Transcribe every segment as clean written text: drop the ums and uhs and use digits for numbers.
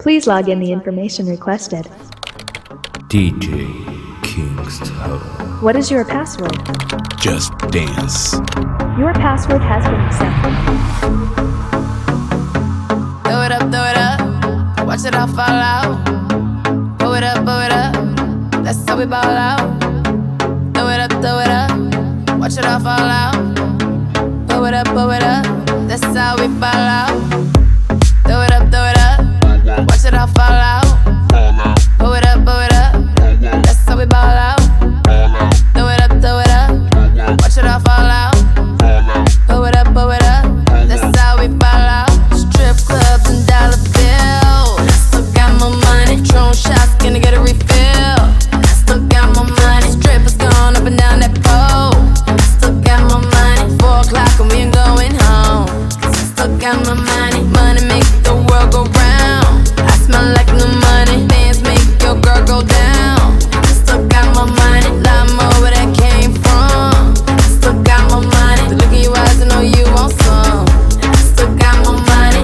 Please log in the information requested. DJ Kingston. What is your password? Just dance. Your password has been accepted. Throw it up, watch it all fall out. Blow it up, that's how we ball out. Throw it up, watch it all fall out. Blow it up, that's how we ball out. Throw it up, watch it all fall out. Blow it up, that's how we ball out. Throw it up, watch it all fall out. Blow it up, that's how we ball out. Strip clubs and dollar bills. Still got my money. Drone shots, gonna get a refill. Still got my money. Strippers going up and down that pole. Still got my money. 4 o'clock and we ain't going home. Still got my money. Money make the world go round. I smell like new money. Bands make your girl go down. Still got my money. Lot more where that came from. Still got my money. The look in your eyes, I know you want some. Still got my money.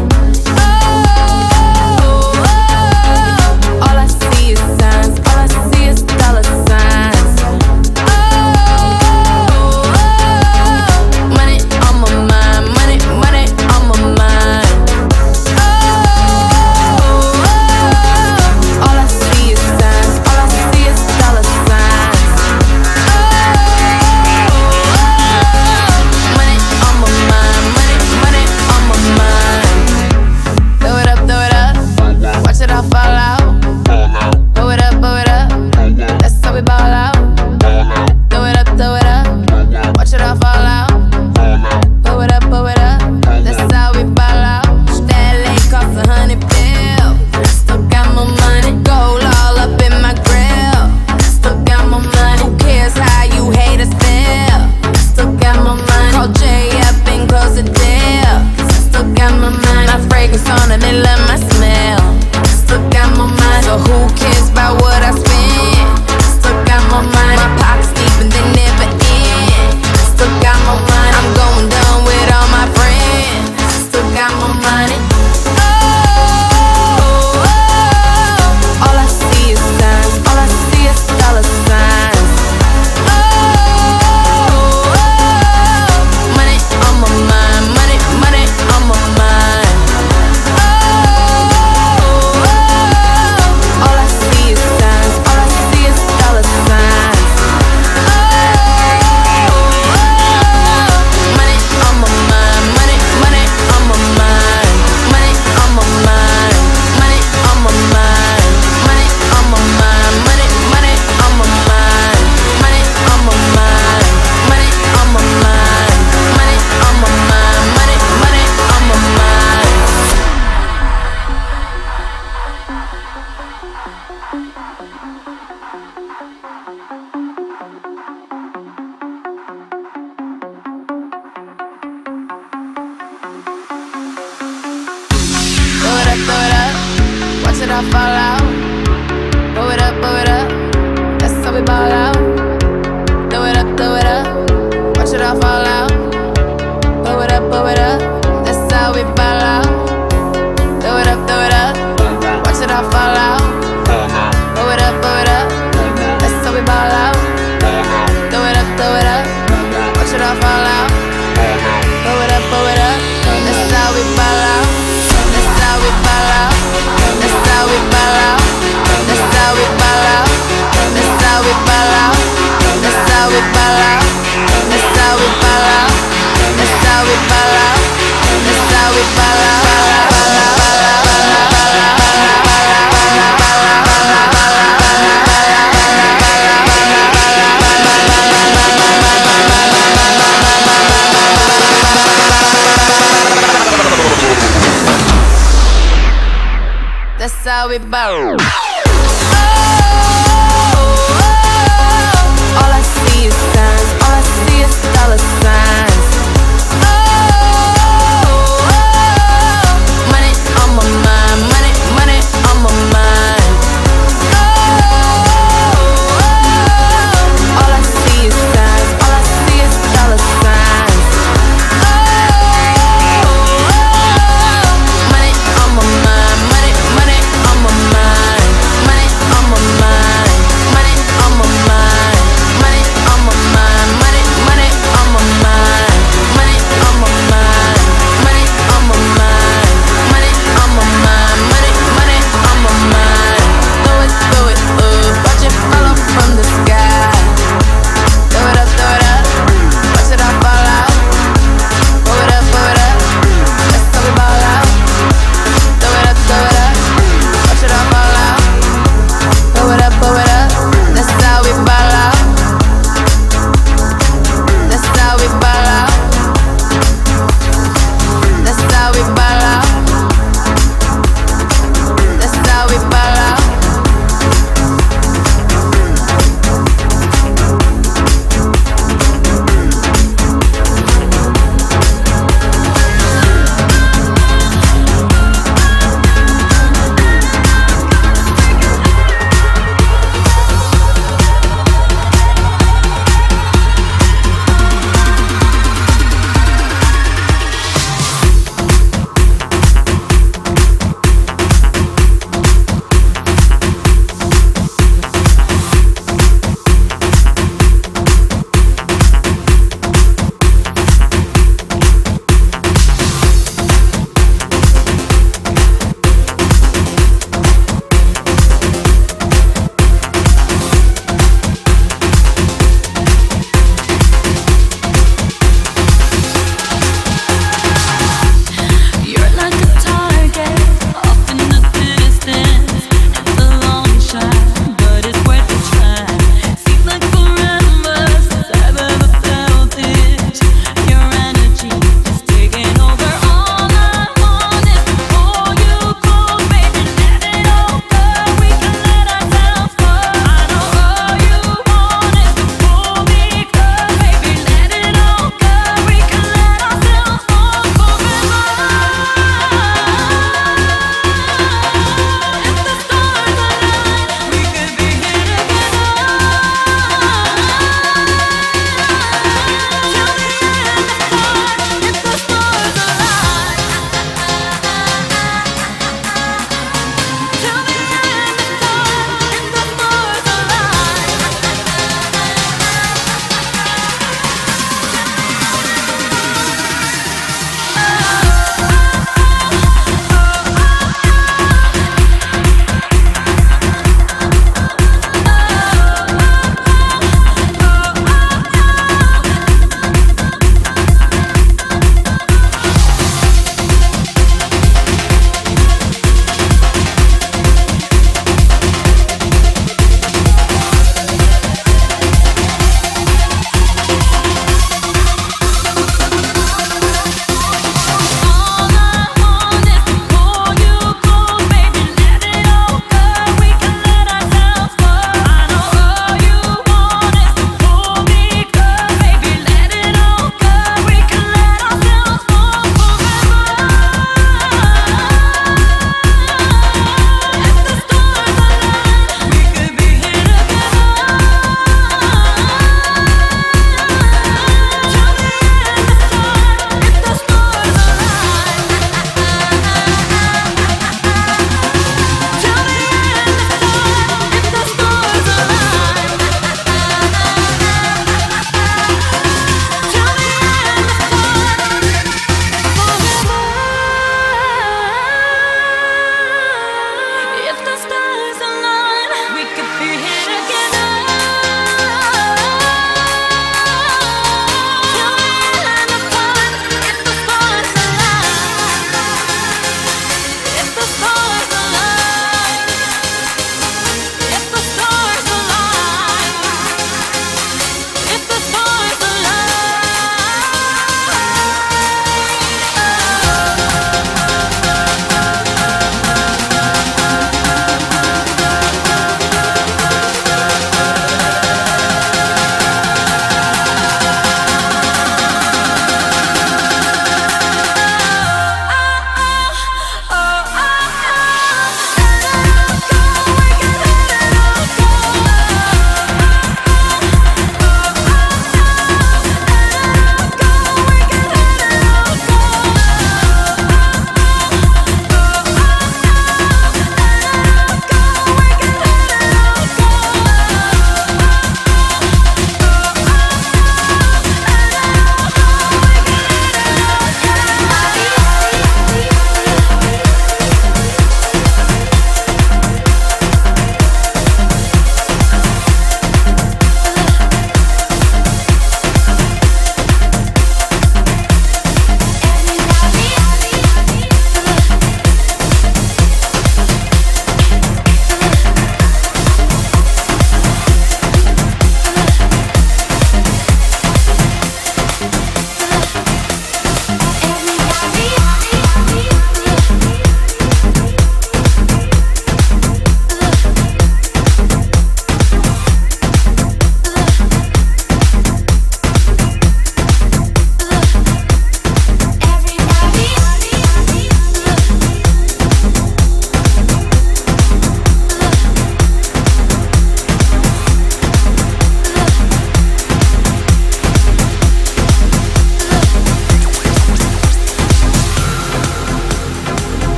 All I see is signs. All I see is dollar signs. Money on my mind. Money on my mind. All I see is signs. All I see is dollar signs. Money on my mind. Money on my mind. Throw it up, watch it all fall out. Blow it up, that's how we ball out. Throw it up, watch it all fall out. Blow it up, that's how we ball out. That lake cost $100 bills. Still got my money. Gold all up in my grill. Still got my money. Who cares how you haters feel? Still got my money. Call Jay up and close the deal. Still got my money. My fragrance on and they love my smell. Still got my money. So who cares about what I spend? Still got my money. My pockets deep and they never end. Still got my money. I'm going down with all my friends. Still got my money. All I see is signs. All I see is dollar signs. Money on my mind. Money on my mind. All I see is signs. All I see is dollar signs. Money on my mind. Money on my mind. Money on my mind. Money on my mind. Money on my mind. Money on my mind. Money on my mind. Money on my mind. Money on my mind. Money on my mind. Throw it up, watch it all fall out. Blow it up, that's how we ball out. Throw it up, watch it all fall out. Blow it up, that's how we ball out. Throw it up, watch it all fall out. Blow it up, that's how we ball out. Throw it up, watch it all fall out. Blow it up, that's how we ball out. That's how we ball out. That's how we ball out. That's how we ball out. That's how we ball out. That's how we ball out. That's how we ball out. That's how we ball out. That's how we ball out. That's how we ball. All I see is signs. All I see is dollar signs. Money on my mind. Money on my mind. All I see is signs. All I see is dollar signs. Money on my mind. Money on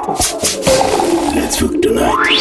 Let's fuck tonight.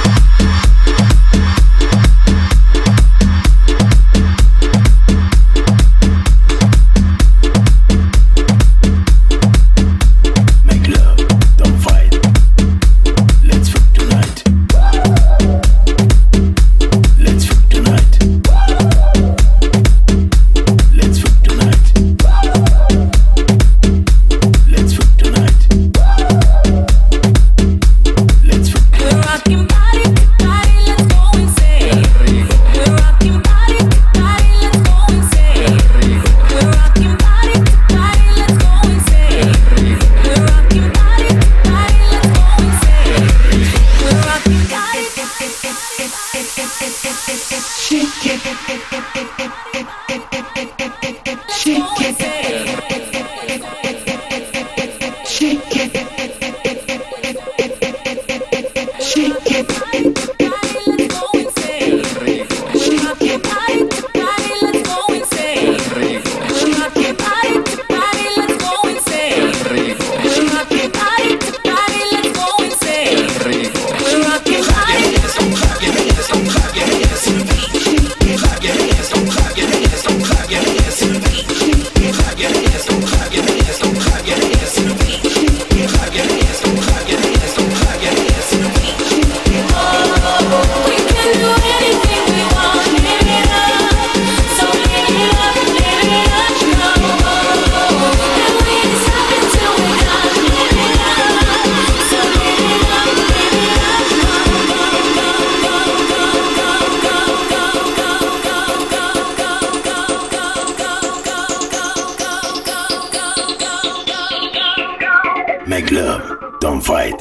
Make love, don't fight.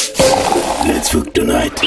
Let's fuck tonight.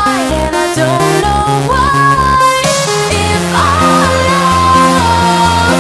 If our love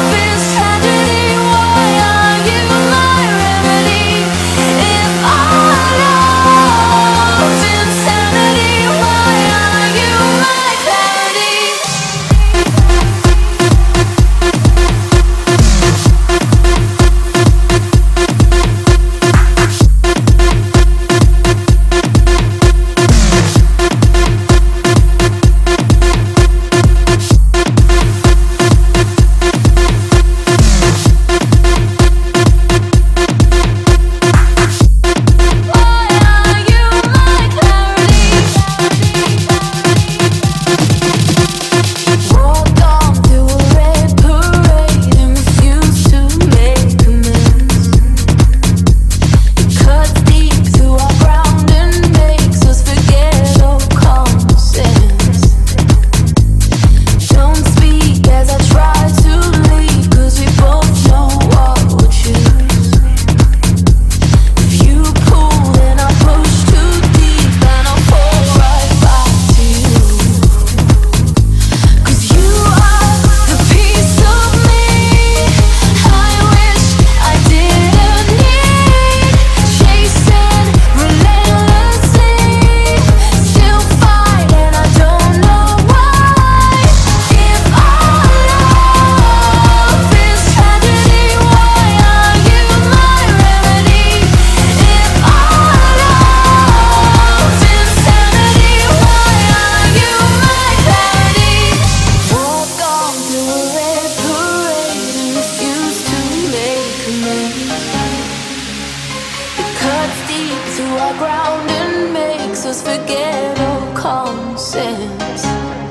ground and makes us forget all common sense.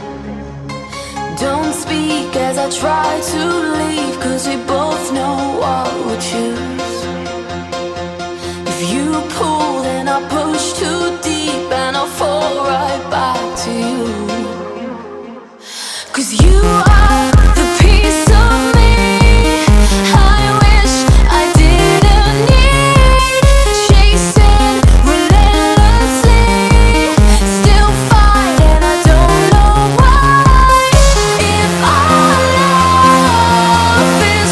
Don't speak as I try to leave, 'cause we both know what we'll choose. If you pull, then I push too deep and I'll fall right back to you. 'Cause you are the piece of me I wish I didn't need. Chasing relentlessly, still fighting, I don't know why. If our love is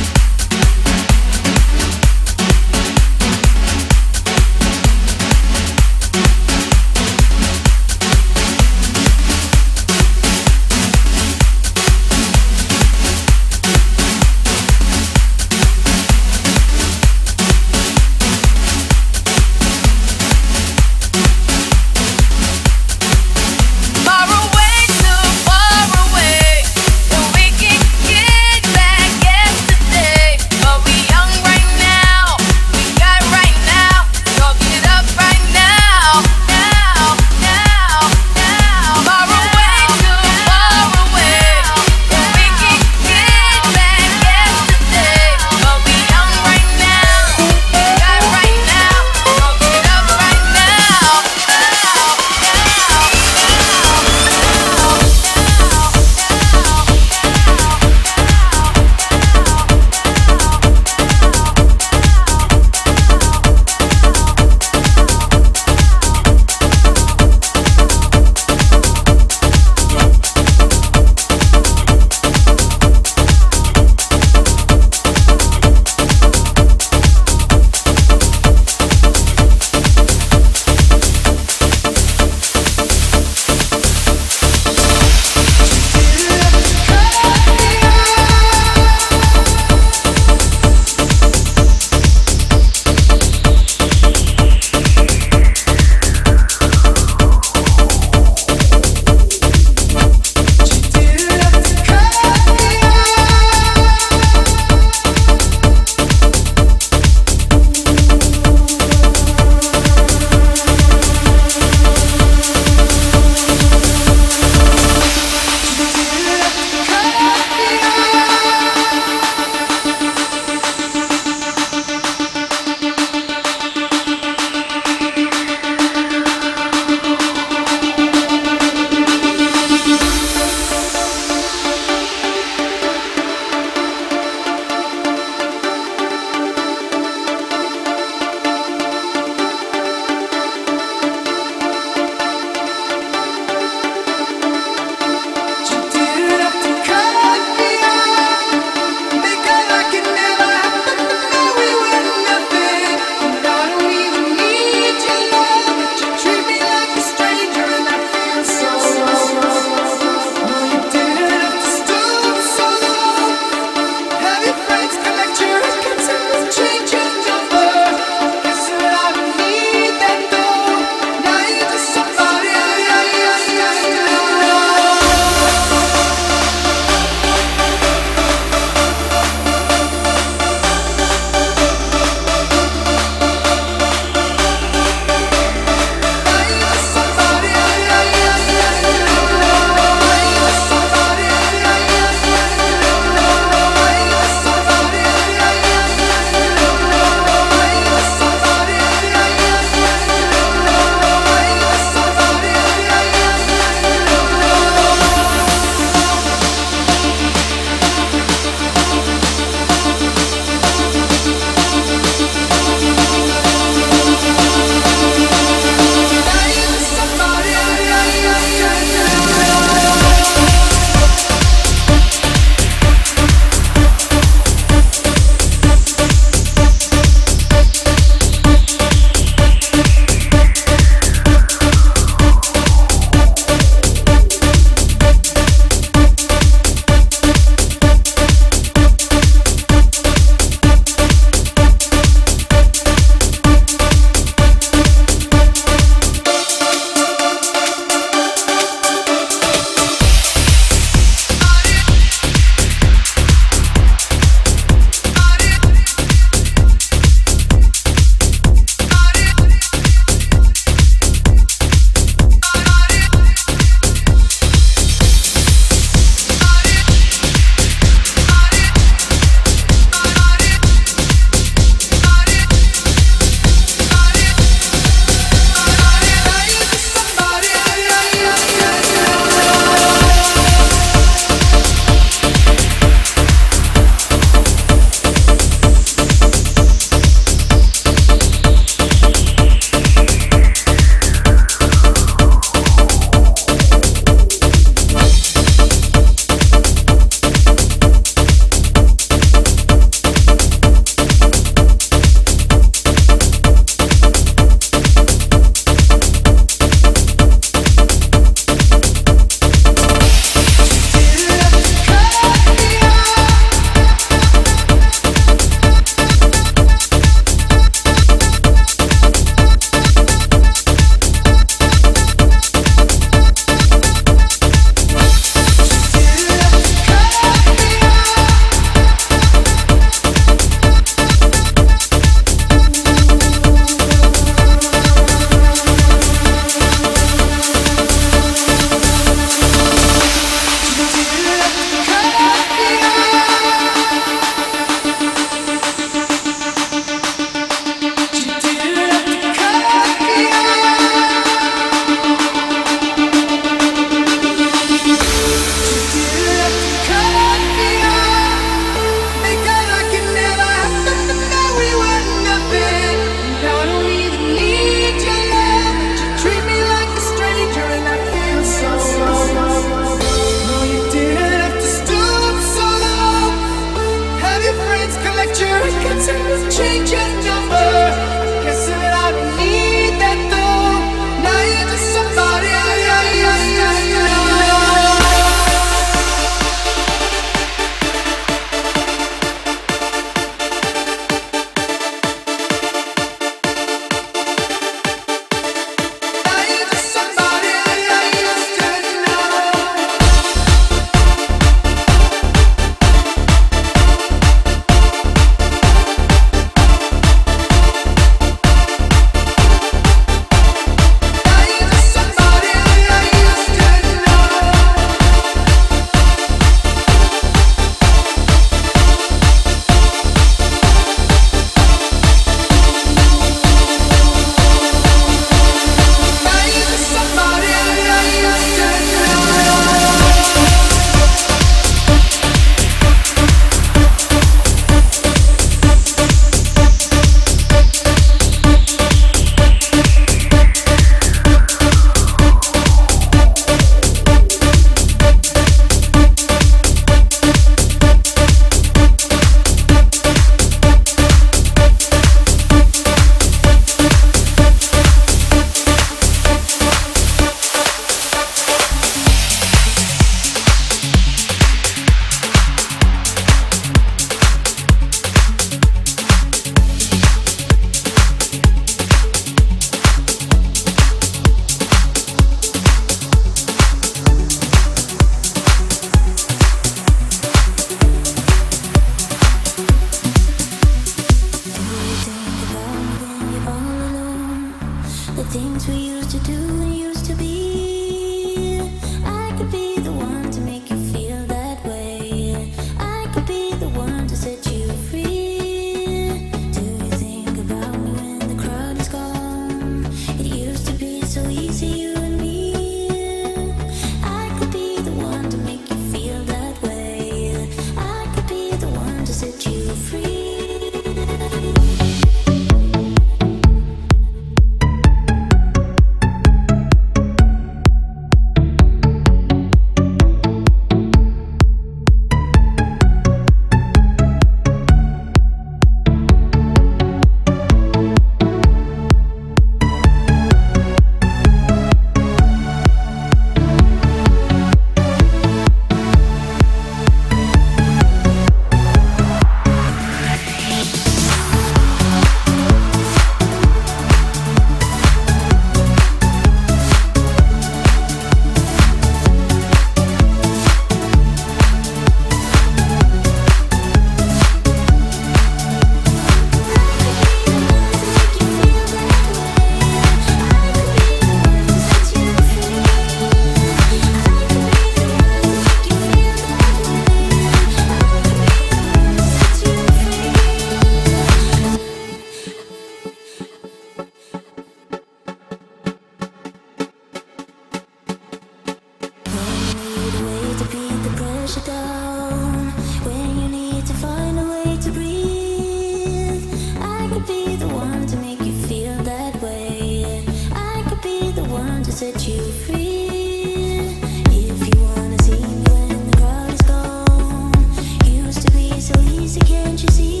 push it down when you need to find a way to breathe. I could be the one to make you feel that way. I could be the one to set you free. If you wanna see me when the crowd is gone, used to be so easy, can't you see?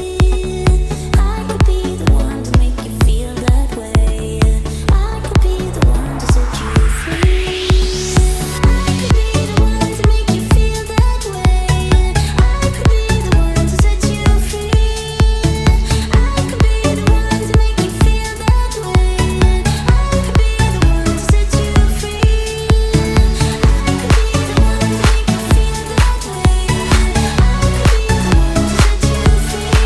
I could be the one to make you feel that way. I could be the one to set you free. I could be the one to make you feel that way. I could be the one to set you free. I could be the one to make you feel that way. I could be the one to set you free. I could be the one to make you feel that way. I could be the one to set you free.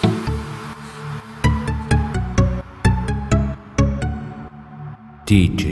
DJ